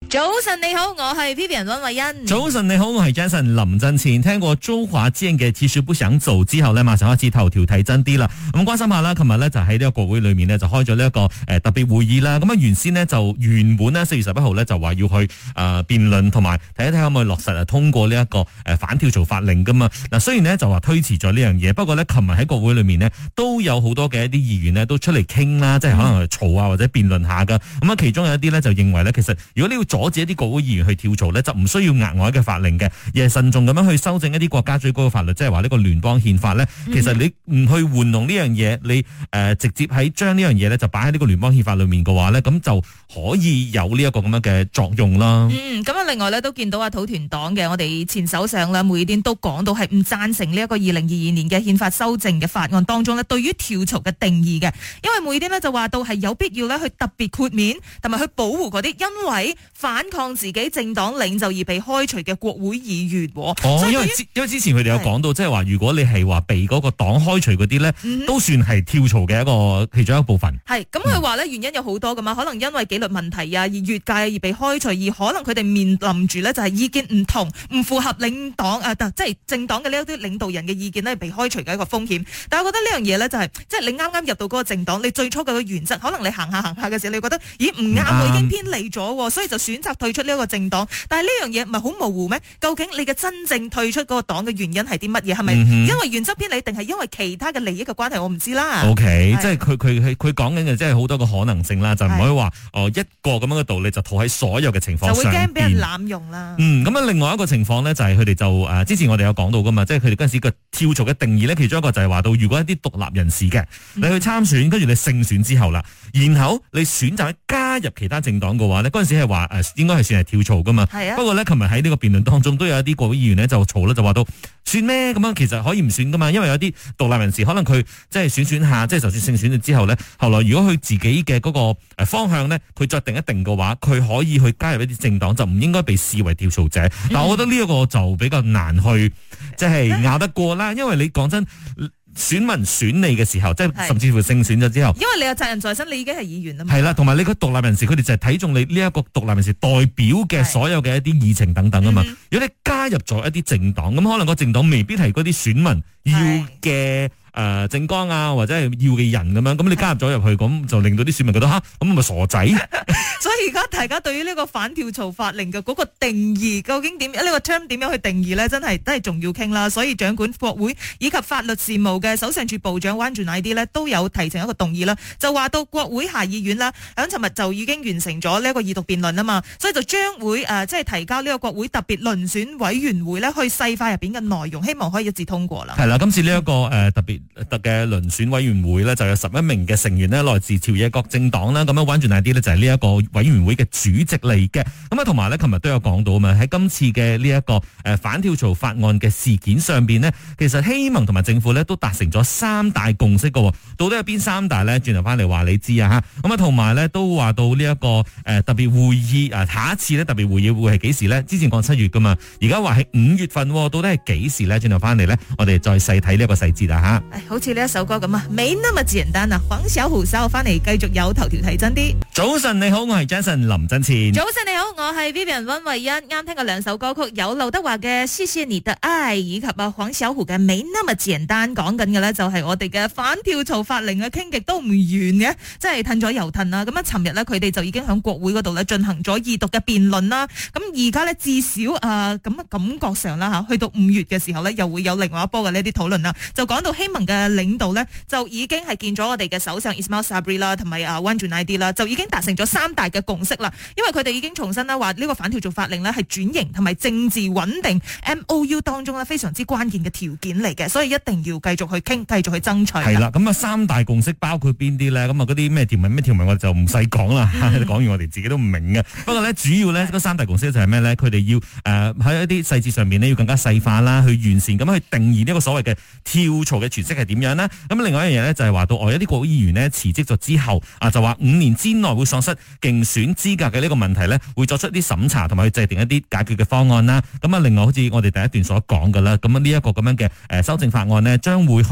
早晨你好，我係 Vivian 溫慧欣。 早晨你好，我係 Jason 林振前。聽過周華健嘅其實不想走之後呢，馬上開始頭條睇真啲啦。咁關心下啦，琴日呢就喺呢個國會裏面呢，就開咗呢一個特別會議啦。咁啊原先呢，就原本呢4月11號呢，就話要去辯論同埋睇一睇可唔可以落實通過呢一個反跳槽法令噶嘛。嗱雖然呢，就話推遲咗呢樣嘢，不過呢，琴日喺國會裏面呢，都有好多嘅一啲議員呢，都出嚟傾啦，即係可能嘈啊或者辯論下噶。咁啊其中有一啲呢，就認為呢，其實如果你要阻止一啲國會議員去跳槽呢，就唔需要額外嘅法令嘅，而係慎重咁樣去修正一啲國家最高嘅法律，即係話呢個聯邦憲法呢。其實你唔去玩弄呢樣嘢，你直接喺將呢樣嘢呢就擺喺呢個聯邦憲法裏面嘅話呢，咁就可以有呢一個咁樣嘅作用啦。 咁啊，另外呢，都見到土團黨嘅我哋前首相啦，梅爾典都講到係唔贊成呢一個2022年嘅憲法修正嘅法案當中呢，對於跳槽嘅定義嘅，因為梅爾典呢就話到係有必要呢去特別豁免同埋去保護嗰啲因為反抗自己政黨領袖而被開除嘅國會議員。 因為之前佢哋有講到，即係話如果你係話被嗰個黨開除嗰啲呢，都算係跳槽嘅一個其中一部分。係咁佢話呢，原因有好多噶嘛，可能因為紀律問題啊，而越界而被開除，而可能佢哋面臨住呢就係意見唔同，唔符合領黨即係政黨嘅呢一啲領導人嘅意見呢，被開除嘅一個風險。但係我覺得呢樣嘢呢，就係即係你啱啱入到嗰個政黨，你最初嘅原則，可能你行下嘅時候，你覺得咦唔啱，我已經偏離咗，所以就選擇退出呢一個政黨。但係呢樣嘢唔係好模糊咩？究竟你嘅真正退出嗰個黨嘅原因係啲乜嘢？係咪因為原則偏離，定係因為其他嘅利益嘅關係？我唔知啦。OK，即係佢講緊嘅，即係好多個可能性啦，就唔可以話一個咁樣嘅道理就套喺所有嘅情況上邊，就會驚俾人濫用啦。咁啊，另外一個情況呢，就係佢哋就之前我哋有講到噶嘛，即係佢哋嗰陣時個跳槽嘅定義呢，其中一個就係話到，如果一啲獨立人士嘅你去參選，跟住你勝選之後啦，然後你選擇加入其他政黨嘅話呢，嗰陣時係話應該係算係跳槽噶嘛。不過呢，琴日喺呢個辯論當中都有一啲國會議員呢就嘈啦，就話到算咩咁樣，其實可以唔選噶嘛，因為有啲獨立人士可能佢即係選下，即係就算勝選咗之後呢，後來如果佢自己嘅嗰個方向呢，佢再定一定嘅話，佢可以去加入一啲政黨，就唔應該被視為跳槽者。但我覺得呢一個就比較難去即係拗得過啦，因為你講真。選民選你嘅時候，即係甚至乎勝選咗之後， 因為你有責任在身，你已經係議員啦嘛。 係啦，同埋你個獨立人士，佢哋就係睇中你呢一個獨立人士代表嘅所有嘅一啲議程等等啊嘛。如果你加入咗一啲政黨，咁可能個政黨未必係嗰啲選民要嘅政綱啊，或者係要嘅人咁樣，咁你加入咗入去，咁就令到啲選民覺得吓，咁咪傻仔。 所以而家大家對於呢個反跳槽法令嘅嗰個定義，究竟點呢個 term 點樣去定義呢？真係都係仲要傾啦。所以掌管國會以及法律事務嘅首相署部長溫俊乃啲呢都有提呈一個動議啦，就話到國會下議院啦，響尋日就已經完成咗呢一個二讀辯論啊嘛，所以就將會即係提交呢個國會特別遴選委員會呢去細化入邊嘅內容，希望可以一致通過啦。係啦， 今次呢一個特嘅遴選委員會呢，就有11名嘅成員呢，來自朝野各政黨啦。咁樣溫俊乃啲呢，就係呢一個委員會嘅主席嚟嘅。咁啊，同埋呢，琴日都有講到啊嘛，喺今次嘅呢一個反跳槽法案嘅事件上邊呢，其實希盟同埋政府呢都達成咗3大共識嘅。到底有邊3大呢？轉頭翻嚟話你知啊吓。咁啊，同埋呢，都話到呢一個特別會議下一次呢特別會議會係幾時呢？之前講7月噶嘛，而家話係5月份，到底係幾時呢？轉頭翻嚟呢，我哋再細睇呢一個細節啊吓。 好似呢一首歌咁啊，沒那麼簡單啊！黃小琥稍後翻嚟繼續有頭條睇真啲。 早晨你好，我係 Jason 林振前。 早晨你好，我係 Vivian 溫慧欣。啱聽過2首歌曲，有劉德華嘅《謝謝你的愛》，以及黃小琥嘅《沒那麼簡單》。講緊嘅呢就係我哋嘅反跳槽法令啊，傾極都唔完嘅，即係褪咗又褪啦。咁啊，尋日呢，佢哋就已經喺國會嗰度呢進行咗二讀嘅辯論啦。咁而家呢，至少咁感覺上啦吓，去到5月嘅時候呢，又會有另外一波嘅呢啲討論啦。就講到希盟嘅領導呢，就已經係見咗我哋嘅首相 Ismail Sabri 啦，同埋溫俊乃啲啦，就已經達成咗3大嘅共識啦。因為佢哋已經重申啦，話呢個反跳槽法令呢係轉型同埋政治穩定 MOU 當中呢非常之關鍵嘅條件嚟嘅，所以一定要繼續去傾，繼續去爭取。係啦， 咁啊3大共識包括邊啲呢？咁啊嗰啲咩條文我就唔使講啦，講完我哋自己都唔明嘅。不過呢，主要呢嗰3大共識就係咩呢？佢哋要喺一啲細節上面呢要更加細化啦，去完善咁去定義呢個所謂嘅跳槽嘅詮釋係點樣呢？咁另外一樣嘢呢，就係話到一啲國會議員呢辭職咗之後就話5年之內會喪失競選資格嘅呢個問題呢，會作出一啲審查同埋去制定一啲解決嘅方案啦。咁啊，另外好似我哋第一段所講嘅啦，咁呢一個咁樣嘅修正法案呢，將會去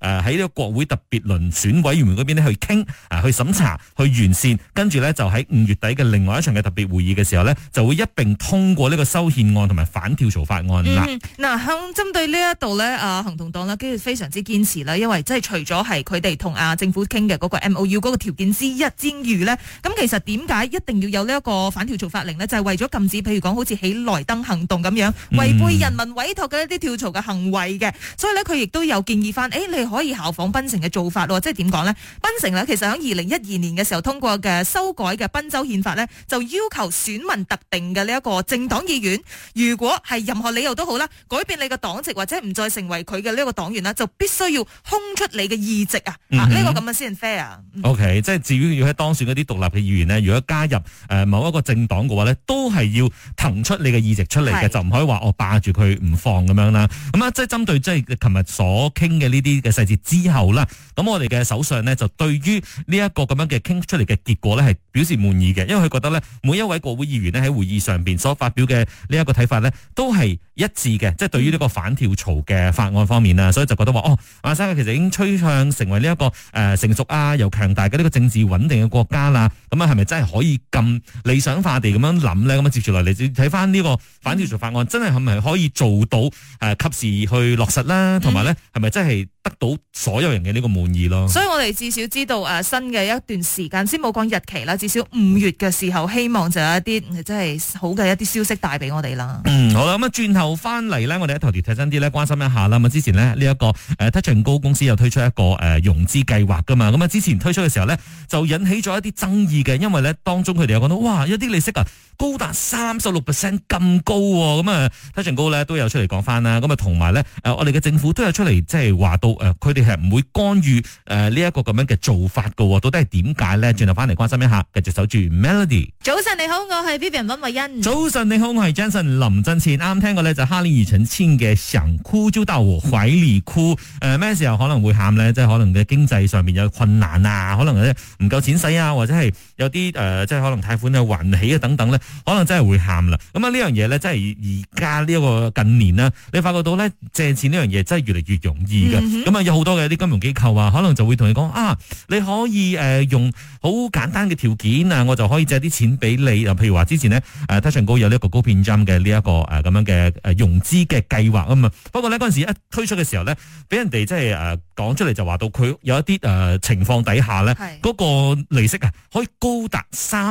喺呢個國會特別遴選委員會嗰邊咧去傾去審查去完善，跟住咧就喺5月底嘅另外一場嘅特別會議嘅時候咧，就會一併通過呢個修憲案同埋反跳槽法案啦。 嗱，向針對呢一度咧，行動黨咧，跟住非常之堅持啦，因為即係除咗係佢哋同政府傾嘅嗰個 MOU 嗰個條件之一之餘咧，咁其實點解一定要有呢一個反跳槽法令呢？就係為咗禁止，譬如講好似喜來登行動咁樣違背人民委託嘅一啲跳槽嘅行為嘅，所以咧佢亦都有建議翻，你可以效仿檳城嘅做法喎，即係點講呢？檳城呢，其實喺2012年嘅時候通過嘅修改嘅賓州憲法呢，就要求選民特定嘅呢一個政黨議員，如果係任何理由都好啦，改變你嘅黨籍或者唔再成為佢嘅呢一個黨員啦，就必須要空出你嘅議席啊！呢個咁嘅先 fair。OK， 即係至於要喺當選嗰啲獨立嘅議員呢，如果加入某一個政黨嘅話呢，都係要騰出你嘅議席出嚟嘅，就唔可以話我霸住佢唔放咁樣啦。咁啊，即係針對即係琴日所傾嘅呢啲嘅細節之後啦，咁我哋嘅首相呢，就對於呢一個咁樣嘅傾出嚟嘅結果呢，係表示滿意嘅，因為佢覺得呢，每一位國會議員呢，喺會議上邊所發表嘅呢一個睇法呢，都係一致嘅，即係對於呢個反跳槽嘅法案方面啊，所以就覺得話馬來西亞其實已經趨向成為呢一個成熟又強大嘅呢個政治穩定嘅國家啦。咁啊，係咪真係可以咁理想化地咁樣諗咧？咁啊，接住落嚟睇翻呢個反跳槽法案，真係咪可以做到及時去落實啦？同埋咧，係咪真係得到所有人嘅呢個滿意咯？ 所以我哋至少知道新嘅一段時間，先冇講日期啦，至少5月嘅時候，希望就有一啲真係好嘅一啲消息帶俾我哋啦。 好啦，咁啊轉頭翻嚟咧，我哋喺頭條睇真啲咧，關心一下啦。咁之前呢，呢一個Touch 'n Go公司有推出一個融資計劃噶嘛，咁啊之前推出嘅時候咧，就引起咗一啲爭議嘅，因為咧當中佢哋有講到，哇，有啲利息高達36% 咁高喎，咁啊Touch 'n Go咧都有出嚟講翻啦，咁啊同埋咧我哋嘅政府都有出嚟即係話到佢哋係唔會干預呢一個咁樣嘅做法噶，到底係點解咧？轉頭翻嚟關心一下，繼續守住 Melody。 早晨你好，我係 Vivian 溫慧欣。 早晨你好，我係 Jensen 林振前。啱聽過咧就哈林庾澄慶嘅想哭就到我懷裡哭。咩時候可能會喊咧？即係可能嘅經濟上面有困難啊，可能唔夠錢使啊，或者係有啲即係可能貸款還唔起啊等等咧。可能真係會喊啦，咁啊呢樣嘢咧，真係而家呢一個近年啦，你發覺到咧借錢呢樣嘢真係越嚟越容易嘅，咁啊有好多嘅啲金融機構啊，可能就會同你講你可以用好簡單嘅條件啊，我就可以借啲錢俾你，譬如話之前呢Touch 'n Go有呢一個高片針嘅呢一個咁樣嘅融資嘅計劃啊嘛，不過呢，嗰陣時一推出嘅時候呢，俾人哋即係講出嚟就話到佢有一啲情況底下呢，嗰個利息可以高達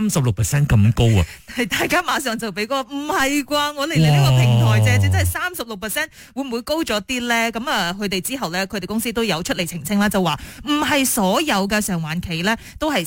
36% 咁高啊！ 大家馬上就俾個唔係啩？我嚟呢個平台借錢真係36%，會唔會高咗啲咧？咁佢哋之後咧，佢哋公司都有出嚟澄清啦，就話唔係所有嘅償還期咧都係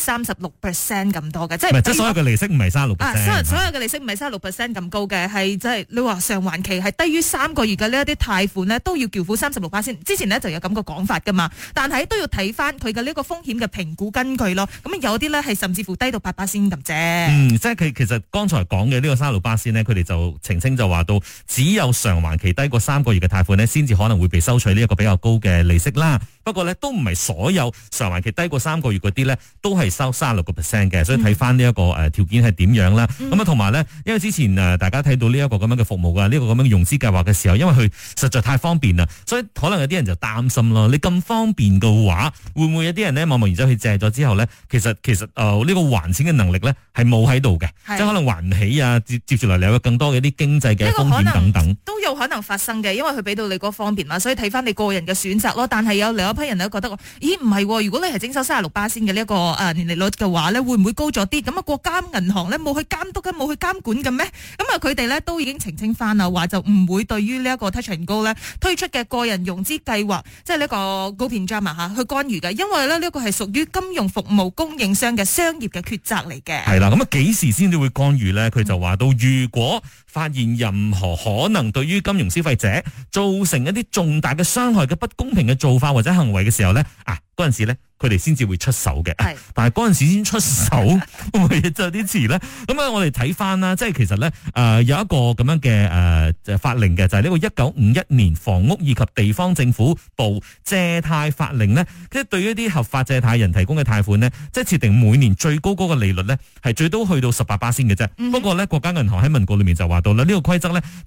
36% 咁多嘅，即係所有嘅利息唔係36%。 所有嘅利息唔係36% 咁高嘅，係即係你話償還期係低於3個月嘅呢一啲貸款咧，都要繳付36%先。之前呢就有咁個講法噶嘛，但係都要睇翻佢嘅呢個風險嘅評估根據咯。咁有啲咧係甚至乎低到8%先咁啫。 即係佢其實剛才講嘅呢個36%咧，佢哋就澄清就話到，只有償還期低過3個月嘅貸款呢，先至可能會被收取呢一個比較高嘅利息啦。不過呢，都唔係所有償還期低過3個月嗰啲呢，都係收36%嘅。所以睇翻呢一個條件係點樣啦。咁啊，同埋呢，因為之前大家睇到呢一個咁樣嘅服務㗎，呢個咁樣嘅融資計劃嘅時候，因為佢實在太方便啦，所以可能有啲人就擔心咯。你咁方便嘅話，會唔會有啲人呢貿貿然走去借咗之後呢？其實呢個還錢嘅能力呢，係冇喺度嘅，即係可能還唔起啊，接住嚟有更多嘅啲經濟嘅風險等等， 都有可能發生嘅，因為佢俾到你嗰方便嘛，所以睇翻你個人嘅選擇咯。但係有另一批人都覺得，咦唔係，如果你係徵收36%先嘅呢一個年利率嘅話咧，會唔會高咗啲？咁啊，國家銀行咧冇去監督嘅，冇去監管嘅咩？咁啊，佢哋咧都已經澄清翻啦，話就唔會對於呢一個 Touch 'n Go 咧推出嘅個人融資計劃，即係呢個高片drama去干預嘅，因為咧呢個係屬於金融服務供應商嘅商業嘅抉擇嚟嘅。 係啦，咁啊幾時先至會干預咧？佢就話到，如果發現任何可能對於金融消費者造成一啲重大嘅傷害嘅不公平嘅做法或者行為嘅時候咧，嗰陣時咧，佢哋先至會出手嘅。但係嗰陣時先出手，會唔會就有啲遲咧？咁啊，我哋睇翻啦，即係其實咧，有一個咁樣嘅法令嘅，就係呢個1951年房屋以及地方政府部借貸法令咧，即係對於一啲合法借貸人提供嘅貸款咧，即係設定每年最高嗰個利率咧，係最多去到18%嘅啫。不過咧，國家銀行喺文告裏面就話到啦，呢個規則咧就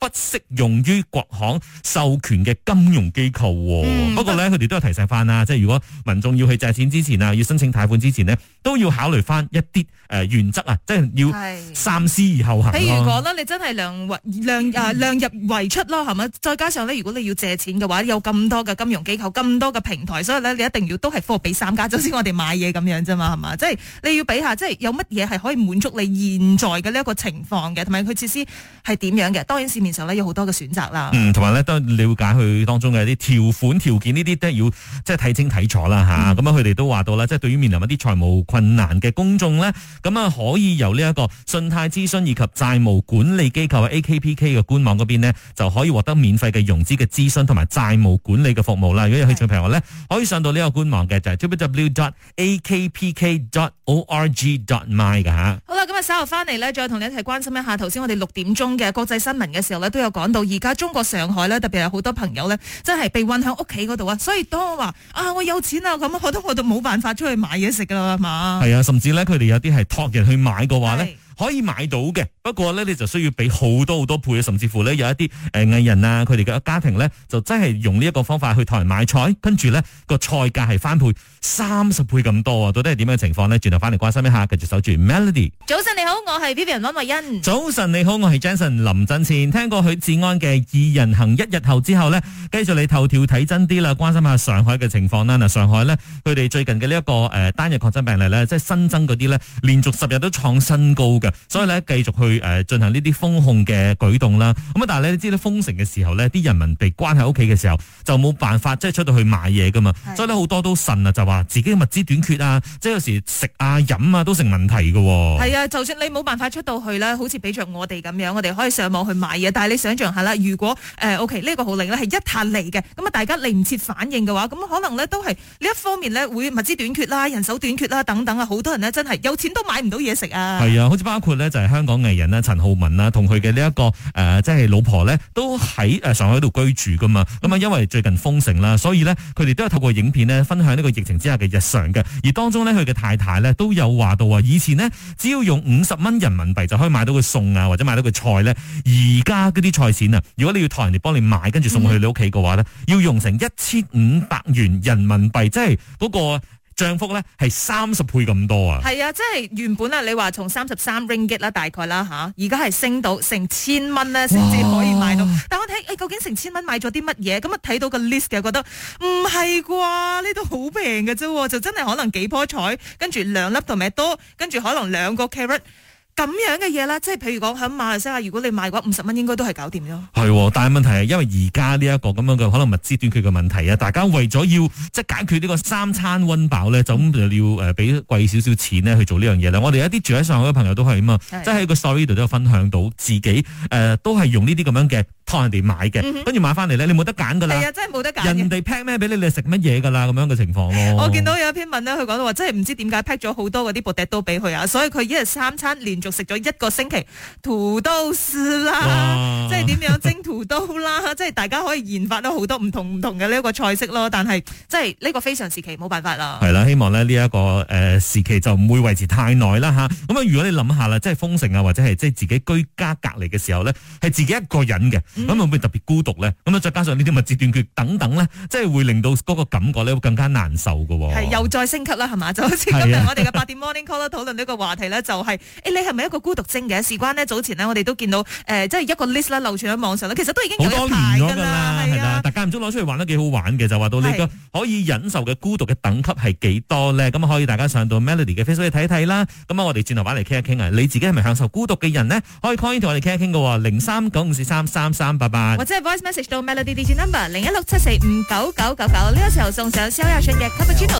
不適用於國行授權嘅金融機構。不過咧，佢哋都有提醒翻啦，即係如果民眾要去借錢之前啊，要申請貸款之前呢，都要考慮翻一啲原則啊，即係要三思而後行。譬如講咧， 你真係量入為出咯，係咪？再加上咧，如果你要借錢嘅話，有咁多嘅金融機構、咁多嘅平台，所以咧你一定要都係貨比三家，就好似我哋買嘢咁樣啫嘛，係嘛？即係你要比下，即係有乜嘢係可以滿足你現在嘅呢一個情況嘅，同埋佢設施係點樣嘅？當然市面上咧有好多嘅選擇啦。 同埋咧都了解佢當中嘅一啲條款條件呢啲都要即係睇清睇楚啦吓。咁佢哋都話到啦，即係對於面臨一啲財務困難嘅公眾咧，咁啊可以由呢一個信貸諮詢以及債務管理機構 AKPK 嘅官網嗰邊呢，就可以獲得免費嘅融資嘅諮詢同埋債務管理嘅服務啦。如果有興趣嘅朋友咧，可以上到呢個官網嘅就係 www.akpk.org.my 噶吓。 好啦，咁啊稍後翻嚟咧，再同你一齊關心一下頭先我哋6點鐘嘅國際新聞嘅時候咧，都有講到而家中國上海咧，特別係好多朋友咧，真係被困喺屋企嗰度啊。所以當我話我有錢啊，咁我都冇辦法出去買嘢食噶啦，係嘛？ 係啊，甚至咧佢哋有啲係託人去買嘅話咧，可以買到嘅，不過咧你就需要俾好多倍，甚至乎咧有一啲藝人啊，佢哋嘅家庭咧就真係用呢一個方法去託人買菜，跟住咧個菜價係翻倍30倍咁多啊！到底係點樣嘅情況呢？轉頭翻嚟關心一下，繼續守住 Melody。 早晨你好，我係 Vivian 溫慧欣。 早晨你好，我係 Jason 林振前。聽過許志安嘅二人行一日後之後呢，繼續嚟頭條睇真啲啦，關心下上海嘅情況啦。嗱，上海呢，佢哋最近嘅呢一個單日確診病例呢，即係新增嗰啲呢，連續10日都創新高嘅，所以呢，繼續去進行呢啲封控嘅舉動啦。咁啊，但係你知道封城嘅時候呢，啲人民被關喺屋企嘅時候，就冇辦法即係出到去買嘢噶嘛，所以呢，好多都呻啊，就話自己嘅物資短缺啊，即係有時食啊飲啊都成問題嘅。 係啊，就算你冇辦法出到去啦，好似比着我哋咁樣，我哋可以上網去買嘢，但係你想象下啦，如果OK 呢個號令咧係一下嚟嘅，咁啊大家嚟唔切反應嘅話，咁可能咧都係呢一方面咧會物資短缺啦、人手短缺啦等等啊，好多人呢真係有錢都買唔到嘢食啊。 係啊，好似包括咧就係香港藝人啦陳浩民啦，同佢嘅呢一個即係老婆咧都喺上海度居住噶嘛。咁啊因為最近封城啦，所以咧佢哋都有透過影片呢分享呢個疫情之下嘅日常嘅。而當中咧佢嘅太太咧都有話到以前呢，只要用50蚊人民幣就可以買到個餸啊，或者買到個菜咧。而家嗰啲菜錢啊，如果你要託人哋幫你買，跟住送去你屋企嘅話咧，要用成1500元人民幣，即係嗰個漲幅咧係30倍咁多啊！係啊，即係原本啊，你話從33 ringgit 啦，大概啦吓，而家係升到成1000蚊咧，先至可以買到。但我睇究竟成1000蚊買咗啲乜嘢？咁啊睇到個 list 嘅，覺得唔係啩？呢度好平嘅啫，就真係可能幾棵菜，跟住2粒tomato多，跟住可能2個 carrot。咁樣嘅嘢啦，即係譬如講喺馬來西亞，如果你買嘅話50蚊應該都係搞掂咗。係，但係問題係因為而家呢一個咁樣嘅可能物資短缺嘅問題啊，大家為咗要即係解決呢個3餐溫飽咧，就咁就要俾貴少少錢咧去做呢樣嘢啦。我哋一啲住喺上海嘅朋友都係啊嘛，即係喺個 story 度都有分享到自己都係用呢啲咁樣嘅託人哋買嘅，跟住買翻嚟咧，你冇得揀噶啦。係啊，真係冇得揀。人哋 pack 咩俾你，你食乜嘢噶啦咁樣嘅情況咯。我見到有一篇文咧，佢講到話，真係唔知點解 pack 咗好多嗰啲 potato 俾佢啊，所以佢一日3餐連續食咗1個星期土豆絲啦，即係點樣蒸土豆啦，即係大家可以研發到好多唔同嘅呢一個菜式咯。但係即係呢個非常時期冇辦法啦。係啦，希望咧呢一個時期就唔會維持太耐啦吓。咁啊，如果你諗下啦，即係封城啊，或者係即係自己居家隔離嘅時候咧，係自己一個人嘅，咁會唔會特別孤獨咧？咁啊，再加上呢啲物資短缺等等咧，即係會令到嗰個感覺咧會更加難受㗎。係又再升級啦，係嘛？就好似今日我哋嘅8點 Morning Call 討論呢個話題咧，就係你係咪一個孤獨症嘅？事關呢，早前呢，我哋都見到即係一個 list 啦，流傳喺網上咧，其實都已經有一排㗎啦，係啊，大家唔中攞出嚟玩得幾好玩嘅，就話到你個可以忍受嘅孤獨嘅等級係幾多咧？咁可以大家上到 Melody 嘅 Facebook 去睇睇啦。咁我哋轉頭翻嚟傾一傾啊，你自己係咪享受孤獨嘅人呢？可以 call in 同我哋傾一傾嘅，0395433388，或者係 voice message 到 Melody DJ number 0167459999。呢個時候送上蕭亞迅嘅 Cappuccino。